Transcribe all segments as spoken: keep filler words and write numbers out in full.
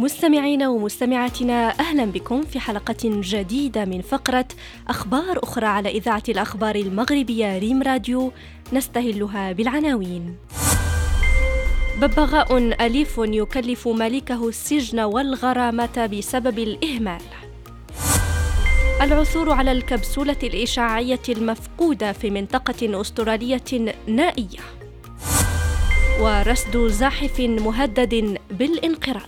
مستمعين ومستمعاتنا، أهلا بكم في حلقة جديدة من فقرة أخبار أخرى على إذاعة الأخبار المغربية ريم راديو، نستهلها بالعناوين. ببغاء أليف يكلف مالكه السجن والغرامة بسبب الإهمال. العثور على الكبسولة الإشعاعية المفقودة في منطقة أسترالية نائية. ورصد زاحف مهدد بالانقراض.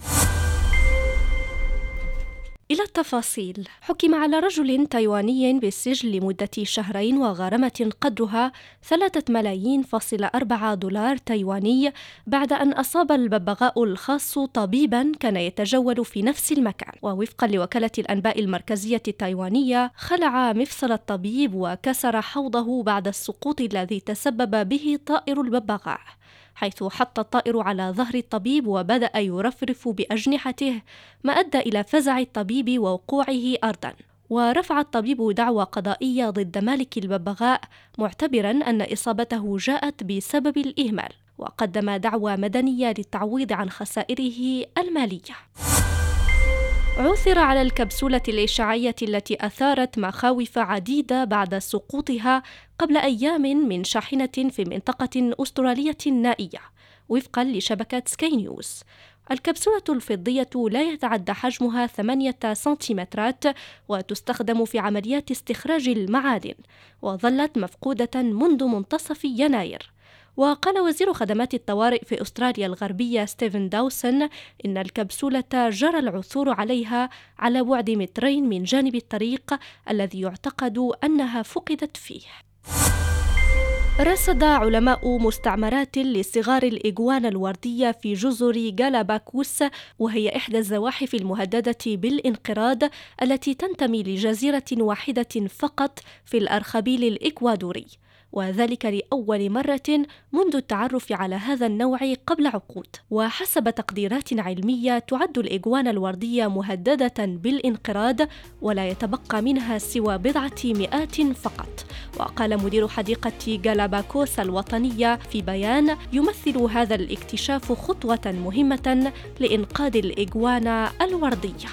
إلى التفاصيل. حكم على رجل تايواني بالسجن لمدة شهرين وغرامة قدرها ثلاثة ملايين فاصلة أربعة دولار تايواني بعد أن أصاب الببغاء الخاص طبيبا كان يتجول في نفس المكان. ووفقا لوكالة الأنباء المركزية التايوانية، خلع مفصل الطبيب وكسر حوضه بعد السقوط الذي تسبب به طائر الببغاء، حيث حط الطائر على ظهر الطبيب وبدأ يرفرف بأجنحته، ما أدى إلى فزع الطبيب ووقوعه أرضاً. ورفع الطبيب دعوى قضائية ضد مالك الببغاء، معتبراً أن إصابته جاءت بسبب الإهمال، وقدم دعوى مدنية للتعويض عن خسائره المالية. عثر على الكبسولة الإشعاعية التي أثارت مخاوف عديدة بعد سقوطها قبل أيام من شاحنة في منطقة أسترالية نائية، وفقاً لشبكة سكاي نيوز. الكبسولة الفضية لا يتعدى حجمها ثمانية سنتيمترات، وتستخدم في عمليات استخراج المعادن، وظلت مفقودة منذ منتصف يناير. وقال وزير خدمات الطوارئ في أستراليا الغربية ستيفن داوسون إن الكبسولة جرى العثور عليها على بعد مترين من جانب الطريق الذي يعتقد أنها فقدت فيه. رصد علماء مستعمرات لصغار الإجوانا الوردية في جزر جالاباكوس، وهي إحدى الزواحف المهددة بالانقراض التي تنتمي لجزيرة واحدة فقط في الأرخبيل الإكوادوري، وذلك لأول مرة منذ التعرف على هذا النوع قبل عقود. وحسب تقديرات علمية، تعد الإجوانا الوردية مهددة بالانقراض، ولا يتبقى منها سوى بضعة مئات فقط. وقال مدير حديقة جالاباكوس الوطنية في بيان: يمثل هذا الاكتشاف خطوة مهمة لإنقاذ الإجوانا الوردية.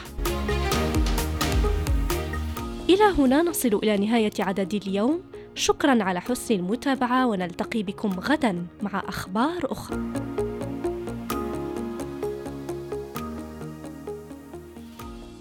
إلى هنا نصل إلى نهاية عدد اليوم. شكراً على حسن المتابعة، ونلتقي بكم غداً مع أخبار أخرى.